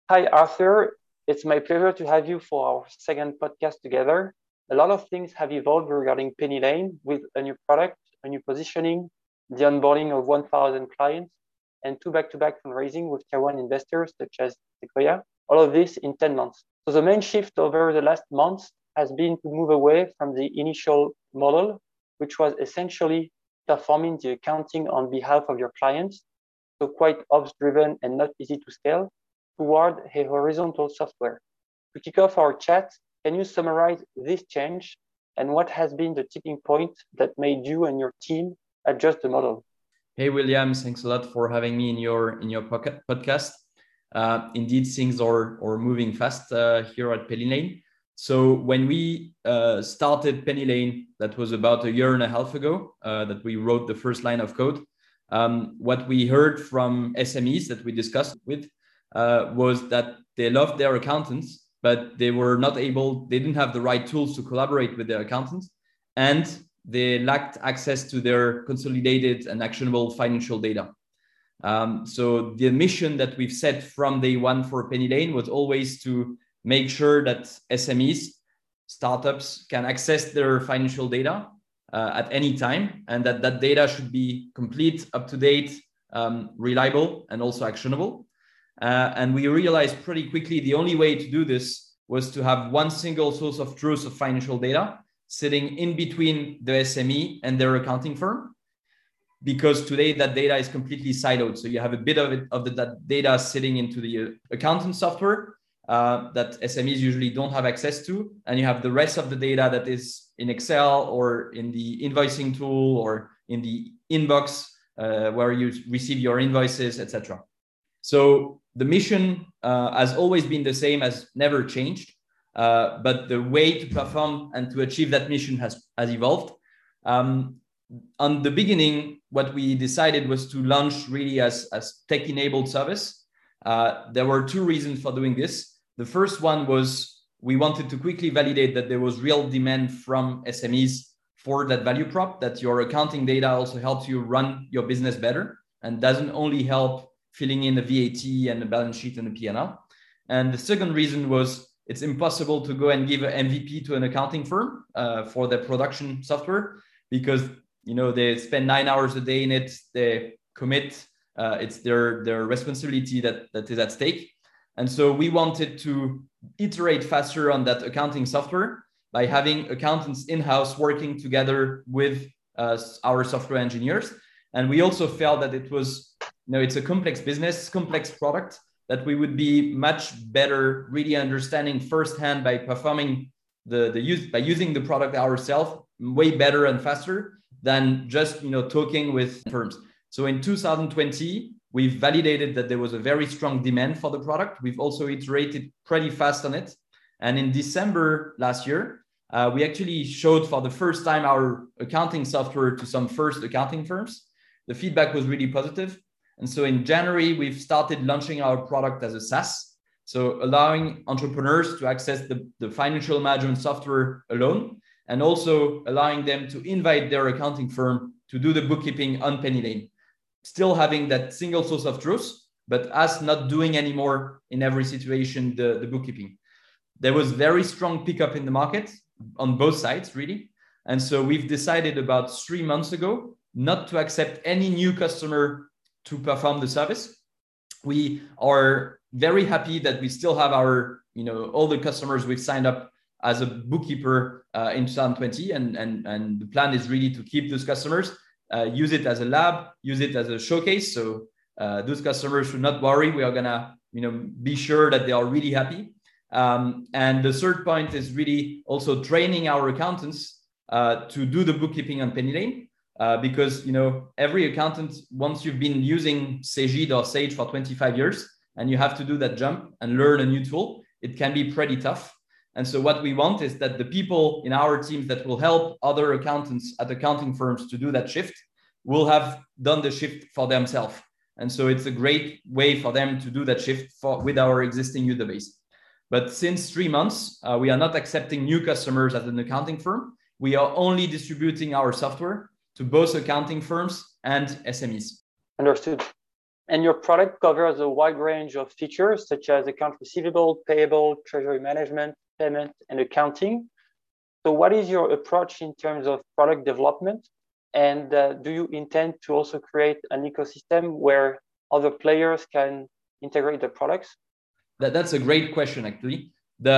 Hi, Arthur. It's my pleasure to have you for our second podcast together. A lot of things have evolved regarding Penny Lane with a new product, a new positioning, the onboarding of 1,000 clients, and two back-to-back fundraising with tier one investors such as Sequoia. All of this in 10 months. So the main shift over the last months has been to move away from the initial model, which was essentially performing the accounting on behalf of your clients, so quite ops driven and not easy to scale, toward a horizontal software. To kick off our chat, can you summarize this change and what has been the tipping point that made you and your team adjust the model? Hey, William, thanks a lot for having me in your podcast. Indeed, things are moving fast here at Penny Lane. So when we started Penny Lane, that was about a year and a half ago that we wrote the first line of code. What we heard from SMEs that we discussed with was that they loved their accountants, but they didn't have the right tools to collaborate with their accountants, and they lacked access to their consolidated and actionable financial data. So the mission that we've set from day one for Penny Lane was always to make sure that SMEs, startups, can access their financial data at any time, and that data should be complete, up-to-date, reliable, and also actionable. And we realized pretty quickly the only way to do this was to have one single source of truth of financial data sitting in between the SME and their accounting firm, because today that data is completely siloed. So you have a bit of that data sitting into the accountant software that SMEs usually don't have access to, and you have the rest of the data that is in Excel or in the invoicing tool or in the inbox where you receive your invoices, etc. So the mission has always been the same, has never changed, but the way to perform and to achieve that mission has evolved. On the beginning, what we decided was to launch really as tech-enabled service. There were two reasons for doing this. The first one was we wanted to quickly validate that there was real demand from SMEs for that value prop, that your accounting data also helps you run your business better and doesn't only help filling in the VAT and the balance sheet and the P&L. And the second reason was it's impossible to go and give an MVP to an accounting firm for their production software, because they spend 9 hours a day in it, they commit, it's their responsibility that is at stake. And so we wanted to iterate faster on that accounting software by having accountants in-house working together with our software engineers. And we also felt that it was, it's a complex business, complex product, that we would be much better really understanding firsthand by performing by using the product ourselves way better and faster than just talking with firms. So in 2020, we've validated that there was a very strong demand for the product. We've also iterated pretty fast on it. And in December last year, we actually showed for the first time our accounting software to some first accounting firms. The feedback was really positive. And so in January, we've started launching our product as a SaaS. So allowing entrepreneurs to access the financial management software alone, and also allowing them to invite their accounting firm to do the bookkeeping on Penny Lane. Still having that single source of truth, but us not doing anymore in every situation the bookkeeping. There was very strong pickup in the market on both sides, really. And so we've decided about 3 months ago not to accept any new customer to perform the service. We are very happy that we still have our, all the customers we've signed up as a bookkeeper in 2020, and the plan is really to keep those customers, use it as a lab, use it as a showcase. So those customers should not worry. We are gonna, be sure that they are really happy. And the third point is really also training our accountants to do the bookkeeping on Penny Lane. Because every accountant, once you've been using Cegid or Sage for 25 years and you have to do that jump and learn a new tool, it can be pretty tough. And so what we want is that the people in our teams that will help other accountants at accounting firms to do that shift will have done the shift for themselves. And so it's a great way for them to do that shift with our existing user base. But since 3 months, we are not accepting new customers as an accounting firm. We are only distributing our software to both accounting firms and SMEs. Understood. And your product covers a wide range of features such as account receivable, payable, treasury management, payment, and accounting. So what is your approach in terms of product development? And do you intend to also create an ecosystem where other players can integrate the products? That's a great question, actually.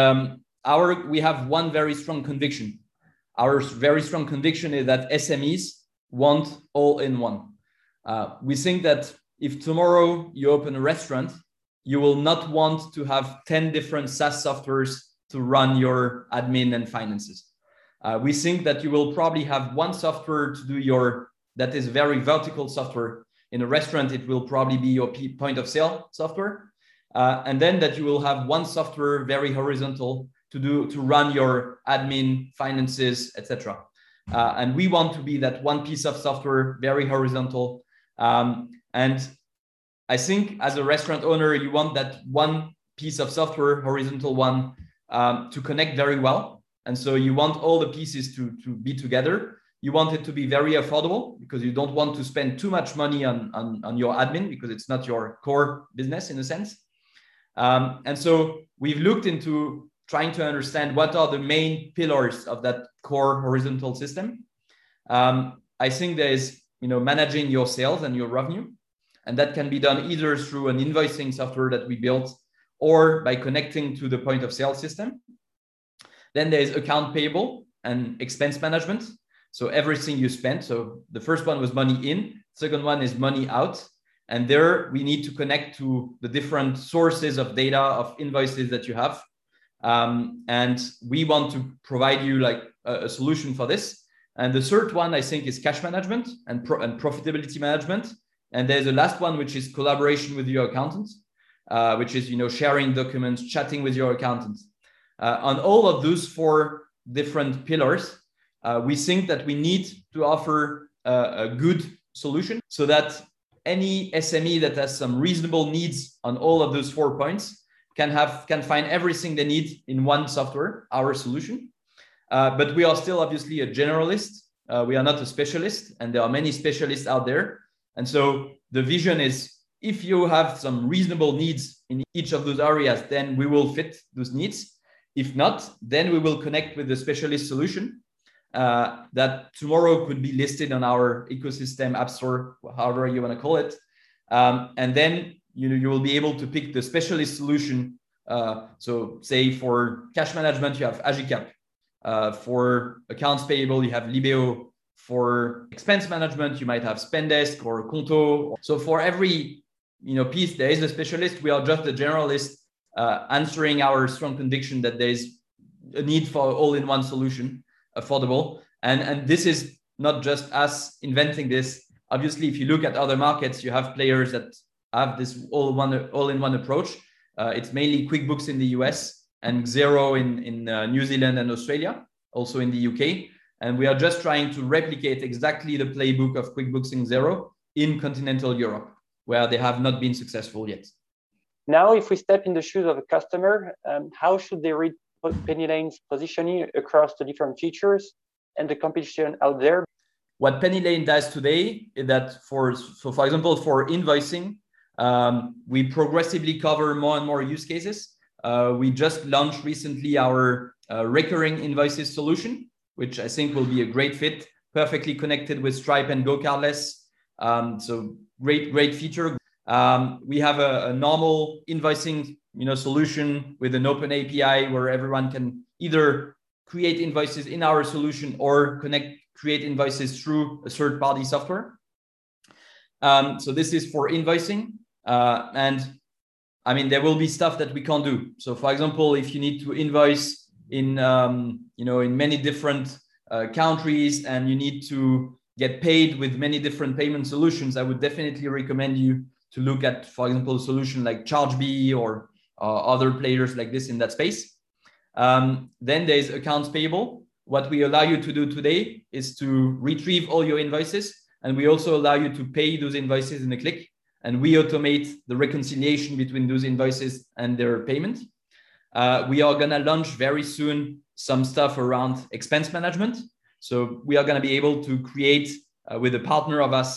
We have one very strong conviction. Our very strong conviction is that SMEs want all-in-one. We think that if tomorrow you open a restaurant, you will not want to have 10 different SaaS softwares to run your admin and finances. We think that you will probably have one software to do that is very vertical software. In a restaurant, it will probably be your point of sale software. And then that you will have one software very horizontal to run your admin, finances, etc. And we want to be that one piece of software, very horizontal. And I think as a restaurant owner, you want that one piece of software, horizontal one, to connect very well. And so you want all the pieces to be together. You want it to be very affordable because you don't want to spend too much money on your admin because it's not your core business in a sense. And so we've looked into trying to understand what are the main pillars of that core horizontal system. I think there is, managing your sales and your revenue. And that can be done either through an invoicing software that we built or by connecting to the point of sale system. Then there is account payable and expense management. So everything you spend. So the first one was money in, second one is money out. And there we need to connect to the different sources of data of invoices that you have. And we want to provide you like a solution for this. And the third one, I think, is cash management and profitability management. And there's the last one, which is collaboration with your accountant, which is, sharing documents, chatting with your accountant. On all of those four different pillars, we think that we need to offer a good solution so that any SME that has some reasonable needs on all of those 4 points can find everything they need in one software, our solution. But we are still obviously a generalist. We are not a specialist, and there are many specialists out there. And so the vision is if you have some reasonable needs in each of those areas, then we will fit those needs. If not, then we will connect with the specialist solution that tomorrow could be listed on our ecosystem, app store, however you want to call it. And then you will be able to pick the specialist solution. So say for cash management, you have Agicap. For accounts payable, you have Libeo. For expense management, you might have Spendesk or Conto. So for every piece, there is a specialist. We are just a generalist answering our strong conviction that there is a need for all-in-one solution, affordable. And this is not just us inventing this. Obviously, if you look at other markets, you have players that have this all-in-one approach. It's mainly QuickBooks in the US and Xero in New Zealand and Australia, also in the UK. And we are just trying to replicate exactly the playbook of QuickBooks and Xero in continental Europe, where they have not been successful yet. Now, if we step in the shoes of a customer, how should they read PennyLane's positioning across the different features and the competition out there? What PennyLane does today is that for example, for invoicing, we progressively cover more and more use cases. We just launched recently our recurring invoices solution, which I think will be a great fit, perfectly connected with Stripe and GoCardless. So great feature. We have a normal invoicing solution with an open API where everyone can either create invoices in our solution or create invoices through a third-party software. So this is for invoicing. And I mean, there will be stuff that we can't do. So for example, if you need to invoice in many different countries and you need to get paid with many different payment solutions, I would definitely recommend you to look at, for example, a solution like Chargebee or other players like this in that space. Then there's accounts payable. What we allow you to do today is to retrieve all your invoices, and we also allow you to pay those invoices in a click, and we automate the reconciliation between those invoices and their payment. We are going to launch very soon some stuff around expense management. So we are going to be able to create with a partner of us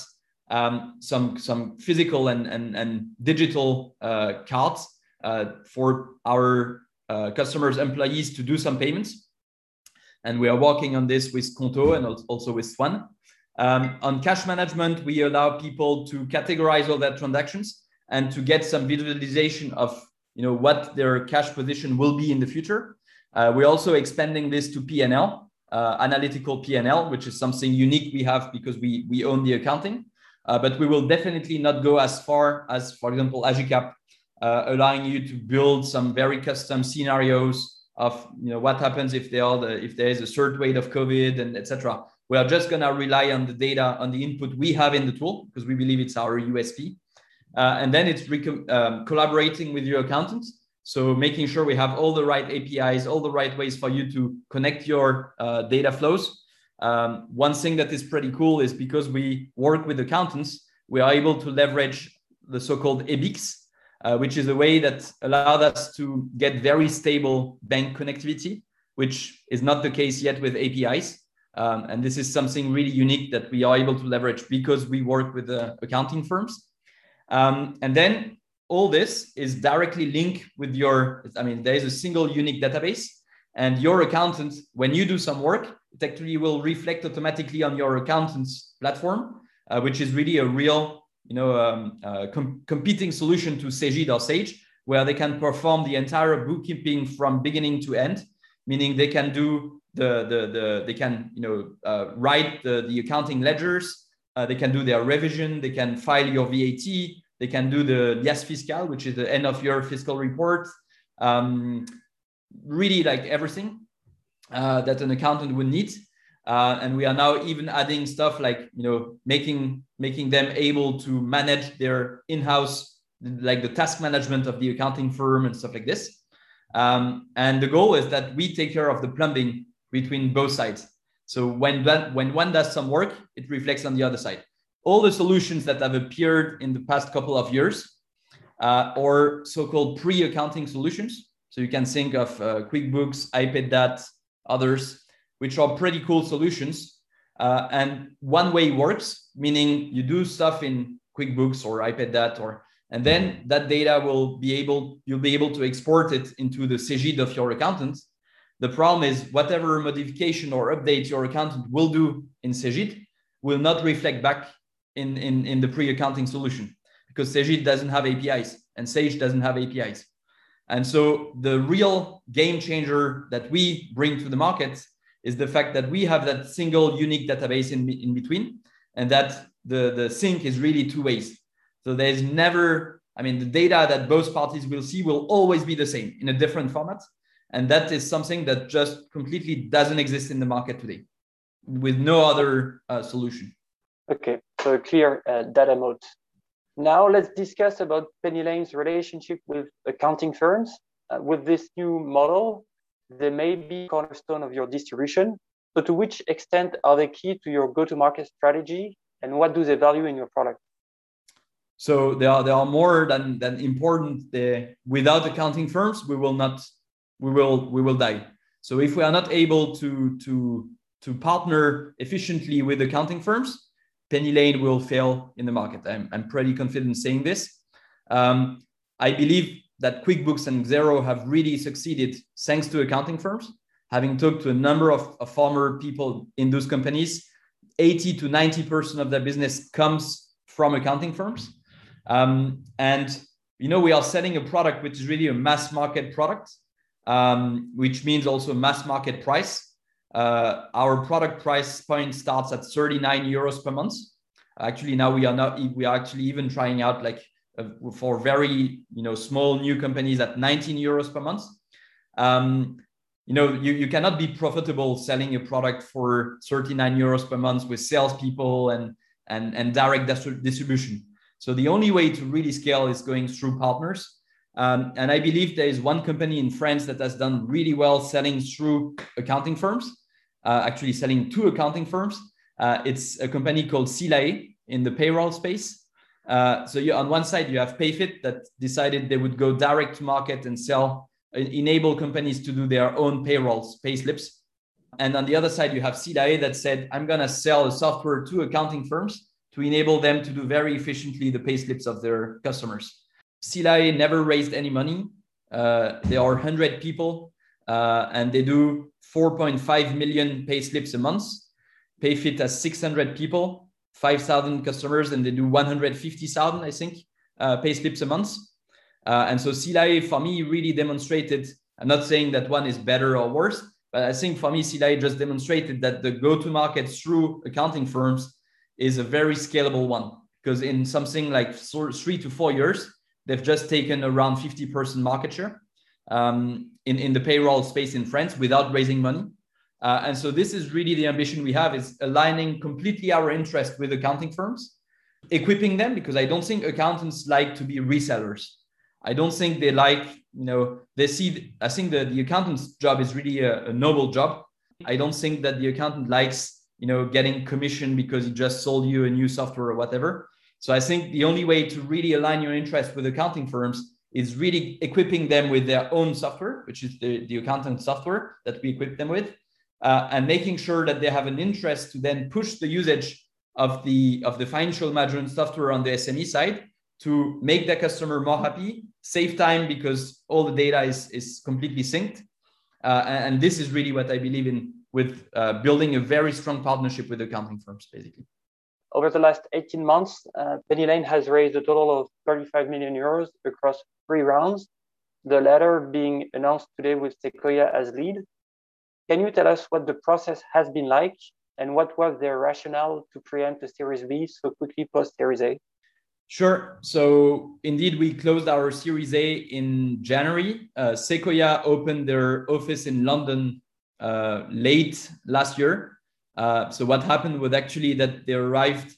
some physical and digital cards for our customers' employees to do some payments. And we are working on this with Conto and also with Swan. On cash management, we allow people to categorize all their transactions and to get some visualization of what their cash position will be in the future. We're also expanding this to P&L, analytical P&L, which is something unique we have because we own the accounting. But we will definitely not go as far as, for example, Agicap, allowing you to build some very custom scenarios of what happens if there is a third wave of COVID and etc. We are just going to rely on the data, on the input we have in the tool, because we believe it's our USP. And then it's collaborating with your accountants. So making sure we have all the right APIs, all the right ways for you to connect your data flows. One thing that is pretty cool is because we work with accountants, we are able to leverage the so-called EBIX, which is a way that allowed us to get very stable bank connectivity, which is not the case yet with APIs. And this is something really unique that we are able to leverage because we work with the accounting firms. And then all this is directly linked with there is a single unique database, and your accountant, when you do some work, it actually will reflect automatically on your accountant's platform, which is really a real, competing solution to Cegid or Sage, where they can perform the entire bookkeeping from beginning to end, meaning they can do write the accounting ledgers, they can do their revision, they can file your VAT, they can do the liasse fiscale, which is the end of your fiscal report, really like everything that an accountant would need. And we are now even adding stuff like, making them able to manage their in-house, like the task management of the accounting firm and stuff like this. And the goal is that we take care of the plumbing between both sides. So when one does some work, it reflects on the other side. All the solutions that have appeared in the past couple of years or so-called pre-accounting solutions. So you can think of QuickBooks, iPayDat, others, which are pretty cool solutions. And one way works, meaning you do stuff in QuickBooks or iPayDat, and then that data you'll be able to export it into the Cegid of your accountant. The problem is whatever modification or update your accountant will do in Cegid will not reflect back in the pre-accounting solution, because Cegid doesn't have APIs and Sage doesn't have APIs. And so the real game changer that we bring to the market is the fact that we have that single unique database in between, and that the sync is really two ways. So there's never, the data that both parties will see will always be the same in a different format. And that is something that just completely doesn't exist in the market today with no other solution. Okay, so a clear data moat. Now let's discuss about PennyLane's relationship with accounting firms. With this new model, they may be cornerstone of your distribution. So to which extent are they key to your go-to-market strategy, and what do they value in your product? So they are more than important. Without accounting firms, we will die. So if we are not able to partner efficiently with accounting firms, PennyLane will fail in the market. I'm pretty confident saying this. I believe that QuickBooks and Xero have really succeeded thanks to accounting firms. Having talked to a number of former people in those companies, 80 to 90% of their business comes from accounting firms. And we are selling a product which is really a mass market product, which means also mass market price. Our product price point starts at 39 euros per month. Actually, now we are actually even trying out for very small new companies at 19 euros per month. You cannot be profitable selling a product for 39 euros per month with salespeople and direct distribution. So the only way to really scale is going through partners. And I believe there is one company in France that has done really well selling through accounting firms, actually selling to accounting firms. It's a company called Silae in the payroll space. So on one side, you have Payfit that decided they would go direct to market and enable companies to do their own payrolls, pay slips. And on the other side, you have Silae that said, I'm going to sell a software to accounting firms to enable them to do very efficiently the payslips of their customers. Sealeye never raised any money. There are 100 people and they do 4.5 million payslips a month. Payfit has 600 people, 5,000 customers, and they do 150,000, I think, payslips a month. And so Sealeye, for me, really demonstrated, I'm not saying that one is better or worse, but I think for me, Sealeye just demonstrated that the go-to-market through accounting firms is a very scalable one, because in something like 3 to 4 years, they've just taken around 50% market share in the payroll space in France without raising money. And so this is really the ambition we have, is aligning completely our interest with accounting firms, equipping them, because I don't think accountants like to be resellers. I don't think they like, they see, I think the accountant's job is really a noble job. I don't think that the accountant likes, getting commission because he just sold you a new software or whatever. So I think the only way to really align your interest with accounting firms is really equipping them with their own software, which is the accountant software that we equip them with, and making sure that they have an interest to then push the usage of the financial management software on the SME side to make the customer more happy, save time because all the data is completely synced. And this is really what I believe in with building a very strong partnership with accounting firms, basically. Over the last 18 months, PennyLane has raised a total of 35 million euros across 3 rounds, the latter being announced today with Sequoia as lead. Can you tell us what the process has been like and what was their rationale to preempt a Series B so quickly post Series A? Sure. So indeed, we closed our Series A in January. Sequoia opened their office in London late last year. So what happened was actually that they arrived,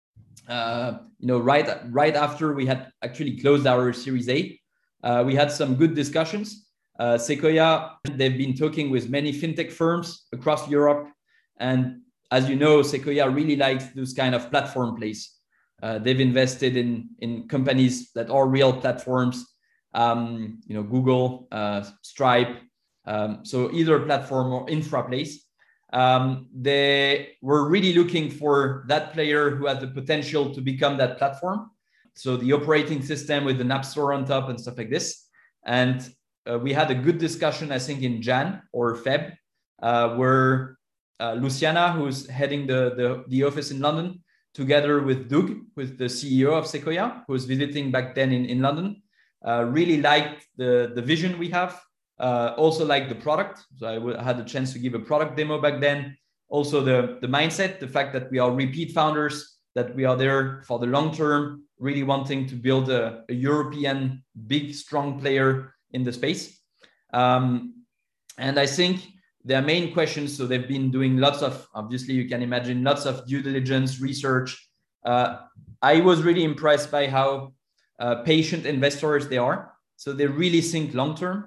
right after we had actually closed our Series A. We had some good discussions. Sequoia, they've been talking with many fintech firms across Europe, and as you know, Sequoia really likes this kind of platform plays. They've invested in companies that are real platforms, Google, Stripe, so either platform or infra plays. They were really looking for that player who had the potential to become that platform. So the operating system with an app store on top and stuff like this. And we had a good discussion, I think, in Jan or Feb, where Luciana, who's heading the office in London, together with Doug, with the CEO of Sequoia, who was visiting back then in London, really liked the vision we have, also liked the product. So I had the chance to give a product demo back then. Also the mindset, the fact that we are repeat founders, that we are there for the long term, really wanting to build a European big, strong player in the space. And I think their main questions, so they've been doing lots of, obviously you can imagine, lots of due diligence, research. I was really impressed by how patient investors they are. So they really think long-term.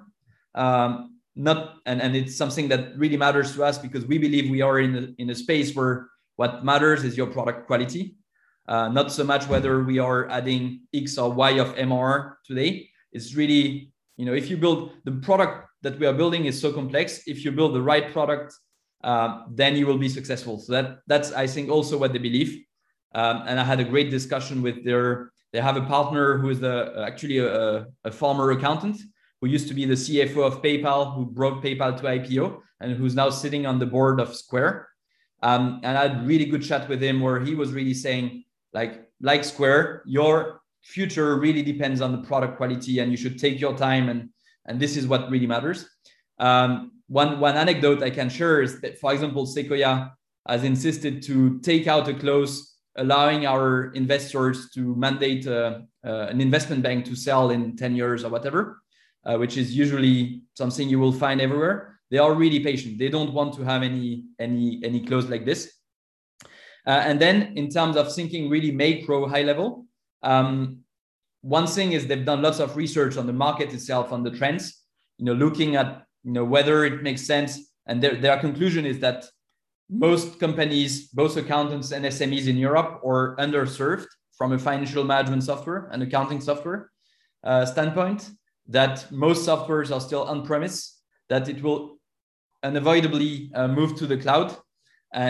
And it's something that really matters to us because we believe we are in a space where what matters is your product quality. Not so much whether we are adding X or Y of MRR today. It's really, if you build the product that we are building is so complex. If you build the right product, then you will be successful. So that's I think also what they believe. And I had a great discussion with they have a partner who is actually a former accountant who used to be the CFO of PayPal, who brought PayPal to IPO and who's now sitting on the board of Square. And I had a really good chat with him where he was really saying, like Square, your future really depends on the product quality and you should take your time and this is what really matters. One anecdote I can share is that, for example, Sequoia has insisted to take out a clause allowing our investors to mandate an investment bank to sell in 10 years or whatever, which is usually something you will find everywhere. They are really patient. They don't want to have any clause like this. And then in terms of thinking really macro high level, one thing is they've done lots of research on the market itself, on the trends, looking at whether it makes sense. And their conclusion is that most companies, both accountants and SMEs in Europe, are underserved from a financial management software and accounting software standpoint, that most softwares are still on-premise, that it will unavoidably move to the cloud. And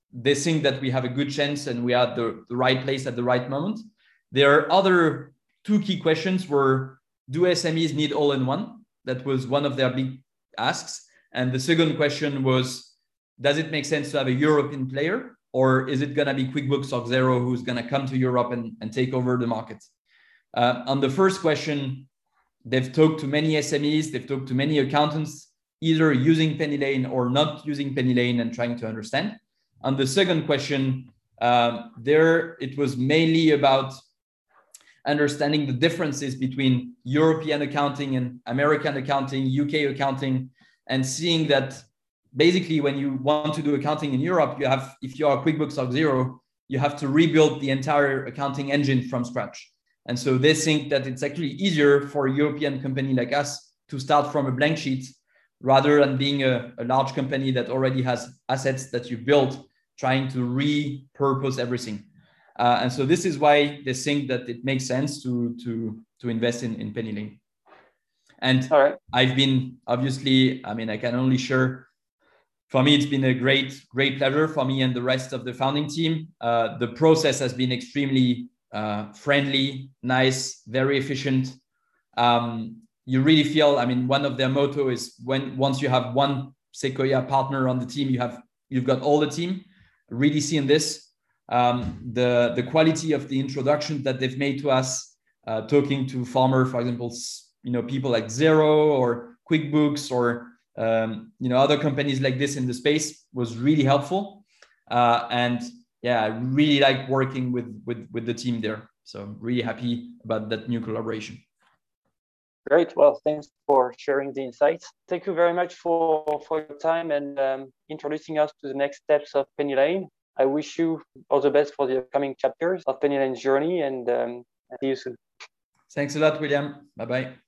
they think that we have a good chance and we are at the right place at the right moment. There are other two key questions were, do SMEs need all-in-one? That was one of their big asks. And the second question was, does it make sense to have a European player, or is it going to be QuickBooks or Xero who's going to come to Europe and take over the market? On the first question, they've talked to many SMEs, they've talked to many accountants, either using PennyLane or not using PennyLane and trying to understand. On the second question, there it was mainly about understanding the differences between European accounting and American accounting, UK accounting, and seeing that basically when you want to do accounting in Europe, you have, if you are QuickBooks or Xero, you have to rebuild the entire accounting engine from scratch. And so they think that it's actually easier for a European company like us to start from a blank sheet rather than being a large company that already has assets that you built, trying to repurpose everything. And so this is why they think that it makes sense to invest in PennyLane. And I've been, obviously, I mean, I can only share, for me, it's been a great pleasure for me and the rest of the founding team. The process has been extremely friendly, nice, very efficient. You really feel, I mean, one of their motto is once you have one Sequoia partner on the team, you've got all the team. Really seeing this, the quality of the introduction that they've made to us, talking to former, for example, people like Xero or QuickBooks or other companies like this in the space was really helpful. And yeah, I really like working with the team there. So I'm really happy about that new collaboration. Great. Well, thanks for sharing the insights. Thank you very much for your time and introducing us to the next steps of PennyLane. I wish you all the best for the upcoming chapters of PennyLane's journey, and see you soon. Thanks a lot, William. Bye-bye.